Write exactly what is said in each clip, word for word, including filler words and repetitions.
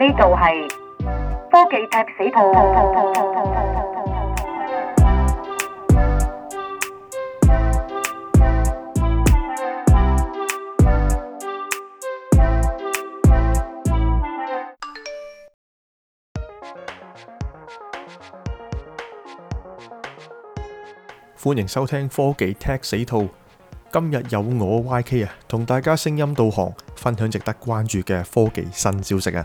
呢度係科技踢死兔。 歡迎收聽科技踢死兔。今日有我 Y K 啊，同大家聲音導航，分享值得關注嘅科技新消息啊。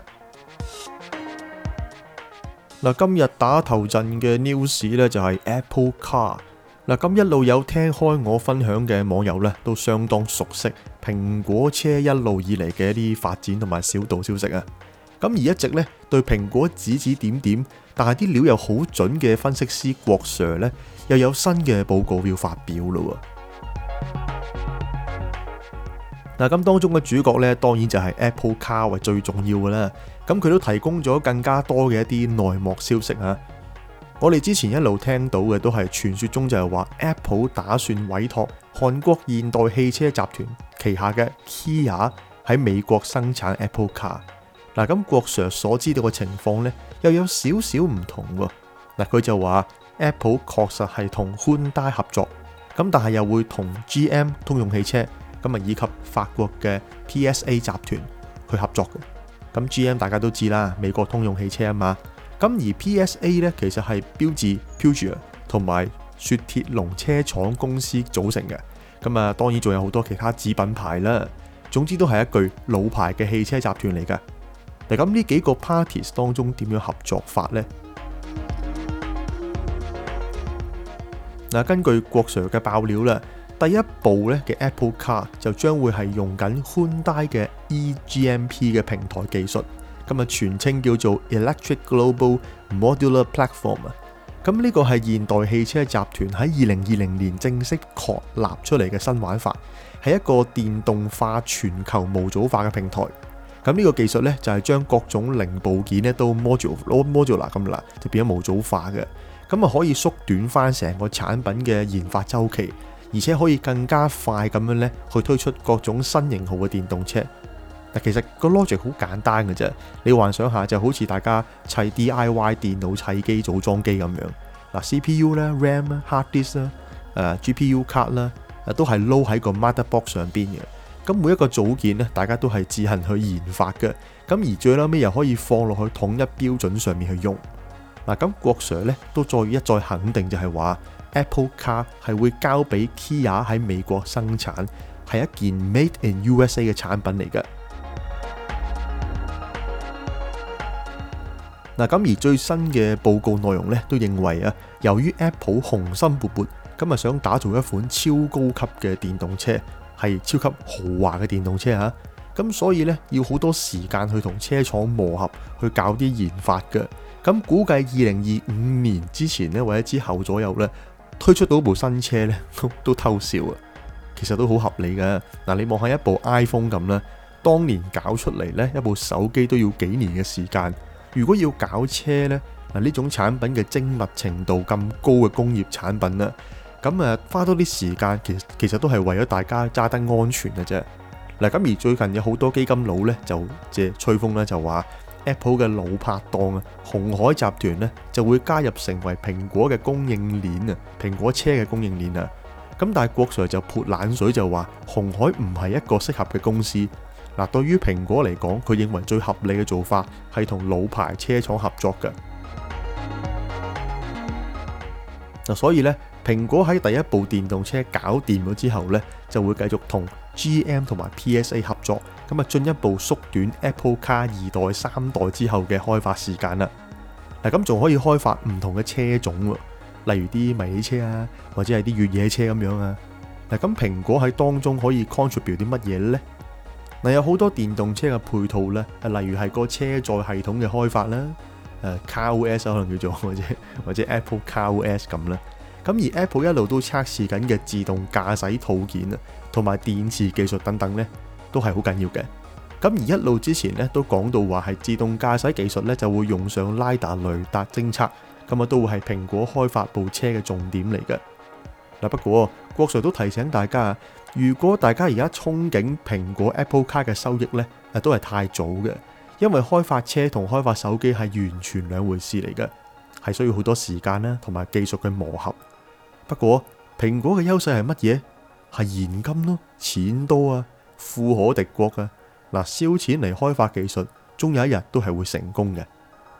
嗱，今日打頭陣嘅 news 咧就係 Apple Car。嗱，咁一路有聽開我分享嘅網友咧，都相當熟悉蘋果車一路以嚟嘅一啲發展同埋小道消息啊。咁而一直咧對蘋果指指點點，但係啲料又好準嘅分析師郭 Sir 咧，又有新嘅報告要發表咯。嗱，咁當中嘅主角咧，當然就係 Apple Car 為最重要嘅啦。咁佢都提供咗更加多嘅一啲內幕消息啊。我哋之前一路聽到嘅都係傳說中就係話 Apple 打算委託韓國現代汽車集團旗下嘅 Kia 喺美國生產 Apple Car。嗱，咁郭 Sir 所知道嘅情況咧，又有少少唔同喎。嗱，佢就話 Apple 確實係同 Hyundai 合作，咁但係又會同 G M 通用汽車，咁啊以及法國嘅 P S A 集團去合作嘅。咁 G M 大家都知啦，美國通用汽車啊嘛。咁而 P S A 咧，其實係標致 Peugeot 同埋雪鐵龍車廠公司組成嘅。咁啊，當然仲有好多其他子品牌啦。總之都係一具老牌嘅汽車集團嚟噶。嗱，咁呢幾個 parties 當中點樣合作法呢？嗱，根據郭 Sir 嘅爆料啦，第一部咧嘅 Apple Car 就將會係用緊 Hyundai 嘅 E G M P 嘅平台技術，咁啊全稱叫做 Electric Global Modular Platform 啊。咁呢個係現代汽車集團喺二零二零年正式確立出嚟嘅新玩法，係一個電動化全球模組化嘅平台。咁呢個技術咧就係將各種零部件咧都 module modular 咁啦，就變咗模組化嘅。咁啊可以縮短翻成個產品嘅研發周期，而且可以更加快咁樣咧去推出各種新型號嘅電動車。嗱，其實個 logic 好簡單嘅啫，你幻想下就好似大家砌 D I Y 電腦砌機組裝機咁樣。嗱 ，C P U 啦、RAM 啦、hard disk 啦、誒 G P U 卡啦，誒都係撈喺個 motherboard 上邊嘅。咁每一個組件咧，大家都係自行去研發嘅。咁而最後尾又可以放落去統一標準上面去用。嗱，咁郭 Sir 咧都再一再肯定就係話 Apple Car 係會交俾 Kia 喺美國生產，係一件 Made in U S A 嘅產品嚟嘅。嗱，咁而最新嘅報告內容咧都認為啊，由於 Apple 雄心勃勃，咁啊想打造一款超高級嘅電動車，係超級豪華嘅電動車嚇，咁所以咧要好多時間去同車廠磨合，去搞啲研發嘅。咁估計二零二五年之前咧，或者之後左右咧，推出到部新車咧，都偷笑啊！其實都好合理嘅。嗱，你望下一部 iPhone 咁啦，當年搞出嚟咧，一部手機都要幾年嘅時間。如果要搞車咧，嗱呢種產品嘅精密程度咁高嘅工業產品啦，咁啊花多啲時間，其實其實都係為咗大家揸得安全嘅啫。嗱，咁而最近有好多基金佬咧就借吹風咧，就話 Apple 嘅老拍檔啊，鴻海集團咧就會加入成為蘋果嘅供應鏈啊，蘋果車嘅供應鏈啊。咁但係郭 Sir 就潑冷水就話鴻海唔係一個適合嘅公司。嗱，對於蘋果嚟講，佢認為最合理嘅做法係同老牌車廠合作嘅。嗱，所以咧，蘋果喺第一部電動車搞掂咗之後咧，就會繼續同 G M 同埋 P S A 合作，咁啊進一步縮短 Apple Car 二代、三代之後嘅開發時間啦。嗱，咁仲可以開發唔同嘅車種喎，例如啲迷你車啊，或者係啲越野車咁樣啊。嗱，咁蘋果喺當中可以 contribute 啲乜嘢咧？嗱，有好多電動車嘅配套咧，例如係個車載系統嘅開發啦，誒 CarOS 可能叫做或者或者 Apple CarOS 咁啦。咁而 Apple 一路都測試緊嘅自動駕駛套件啊，同埋電池技術等等咧，都係好緊要嘅。咁而一路之前咧都講到話係自動駕駛技術咧就會用上 LiDAR 雷達偵測，咁啊都會係蘋果開發部車嘅重點嚟嘅。嗱，不過郭 Sir 都提醒大家，如果大家而家憧憬蘋果 Apple Car 嘅收益咧，都係太早嘅， 因為開發車同開發手機係完全兩回事嚟嘅，係需要好多時間啦，同埋技術嘅磨合。不過蘋果嘅優勢係乜嘢？係現金咯，錢多啊，富可敵國啊。嗱，燒錢嚟開發技術，終有一日都係會成功嘅。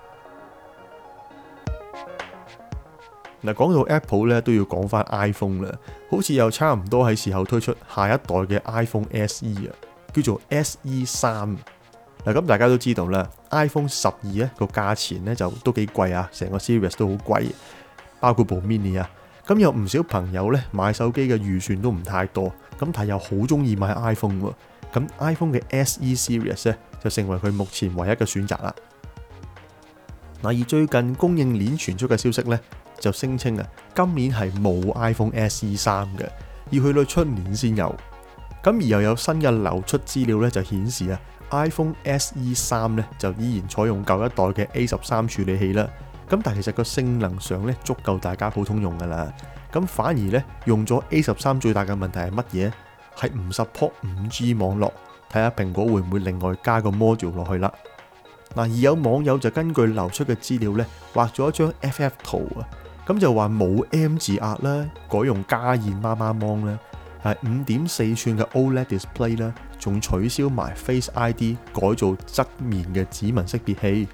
嗱，講到 Apple 咧，都要講翻 iPhone 啦，好似又差唔多係時候推出下一代嘅 iPhone S E 啊，叫做 S E 三。嗱，咁大家都知道啦 ，iPhone 十二咧個價錢咧就都幾貴啊，成個 series 都好貴，包括部 mini 啊。咁有唔少朋友咧買手機嘅預算都唔太多，咁但係又好中意買 iPhone 喎。咁 iPhone 嘅 S E series 咧就成為佢目前唯一嘅選擇啦。嗱，而最近供應鏈傳出嘅消息咧，就聲稱啊，今年係冇 iPhone S E 三嘅，要去到出年先有。咁而又有新嘅流出資料咧，就顯示啊 ，iPhone S E 三咧就依然採用舊一代嘅 A 十三處理器啦。咁但係其實個性能上咧足夠大家普通用噶啦。咁反而咧用咗 A 十三最大嘅問題係乜嘢？係唔 support 五 G 網絡。睇下蘋果會唔會另外加個 module 落去啦。嗱，而有網友就根據流出嘅資料咧，畫咗一張 F F 圖啊。咁就話冇 M 字壓啦，改用加熱媽媽芒啦，係五點四寸嘅 O L E D display 啦，仲取消埋 Face I D， 改做側面嘅指紋識別器。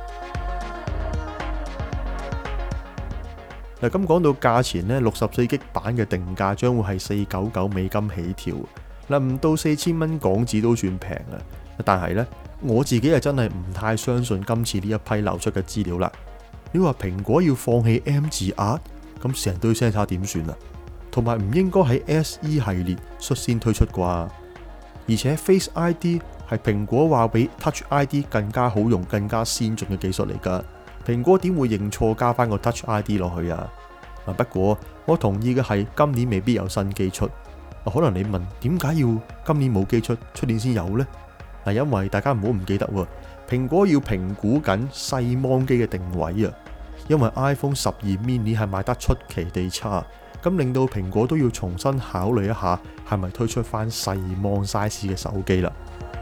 嗱，咁講到價錢咧，六十四 G 版嘅定價將會係四百九十九美金起跳，嗱，唔到四千蚊港紙都算平啊。但係咧，我自己係真係唔太相信今次呢一批流出嘅資料啦。你話蘋果要放棄 M 字壓，咁成堆聲差點算啊？同埋唔應該喺 S E 系列率先推出啩？而且 Face I D 係蘋果話比 Touch I D 更加好用、更加先進嘅技術嚟㗎。蘋果點會認錯加翻個 Touch I D 落去啊？嗱，不過我同意嘅係今年未必有新機出。可能你問點解要今年冇機出，出年先有呢？嗱，因為大家唔好唔記得喎，蘋果要評估緊細芒機嘅定位啊。因為 iPhone 十二 mini 係賣得出奇地差，咁令到蘋果都要重新考慮一下，係咪推出翻細芒 size 嘅手機啦。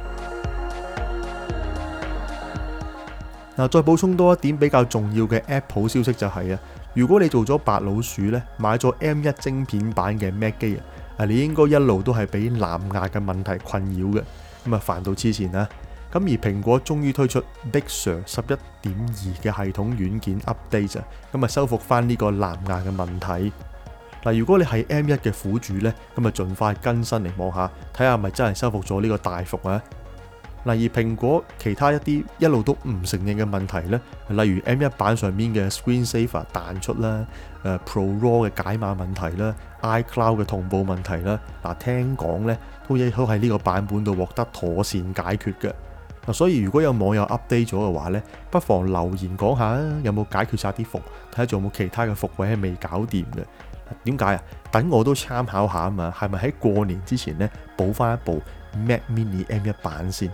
嗱，再補充多一點比較重要嘅 Apple 消息就係啊，如果你做咗白老鼠咧，買咗 M 一精片版嘅 Mac 機啊，你應該一路都係俾藍牙嘅問題困擾嘅，咁啊煩到黐線啦。咁而蘋果終於推出 Big Sur 十一點二嘅系統軟件 update 啊，咁啊修復翻呢個藍牙嘅問題。嗱，如果你係 M 一嘅苦主呢，咁啊盡快更新嚟望下，睇下係咪真係修復咗呢個大伏啊。嗱，而蘋果其他一啲一路都唔承認嘅問題呢，例如 M 一版上面嘅 Screen Saver 彈出啦，誒 Pro Raw 嘅解碼問題啦 ，iCloud 嘅同步問題啦，嗱聽講呢都亦都喺呢個版本度獲得妥善解決嘅。嗱，所以如果有網友 update 咗嘅話呢，不妨留言講下啊，有冇解決晒啲伏，睇下仲有冇其他嘅伏位係未搞掂嘅。點解啊？等我都參考下啊嘛，係咪喺過年之前呢補翻一部 Mac Mini M 一版先？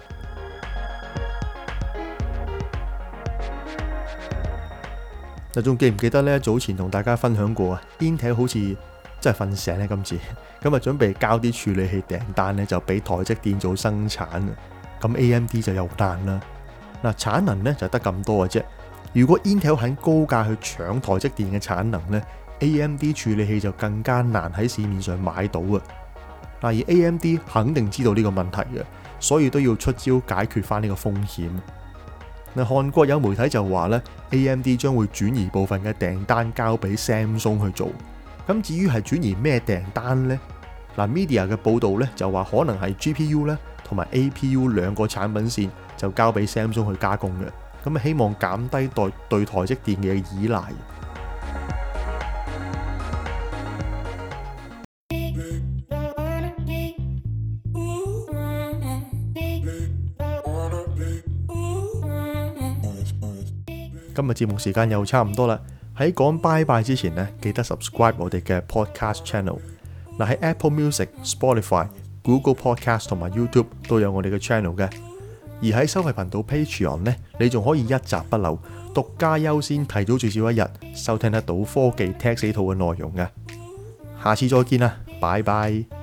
嗱，仲記唔記得呢？早前同大家分享過啊 ，Intel 好似真係瞓醒咧今次，咁啊準備交啲處理器訂單呢，就俾台積電做生產啊。咁 A M D 就有難啦。嗱，產能咧就得咁多嘅啫。如果 Intel 肯高價去搶台積電嘅產能咧 ，A M D 處理器就更加難喺市面上買到啊。嗱，而 A M D 肯定知道呢個問題嘅，所以都要出招解決翻呢個風險。嗱，韓國有媒體就話咧 ，A M D 將會轉移部分嘅訂單交俾 Samsung 去做。咁至於係轉移咩訂單呢？嗱 ，Media 嘅報導咧就話可能係 G P U 咧。同埋 A P U 兩個產品線就交俾 Samsung 去加工嘅，咁啊希望減低對對台積電嘅依賴。今日節目時間又差唔多啦，喺講拜拜之前呢，記得 subscribe 我哋嘅 podcast channel。嗱，喺 Apple Music、Spotify、Google Podcast 同埋 YouTube 都有我哋嘅 channel 嘅，而喺收費頻道 Patreon 呢，你仲可以一集不漏、獨家優先、提早最少一日收聽得到科技 Tech 死兔嘅內容嘅。下次再見啦，拜拜。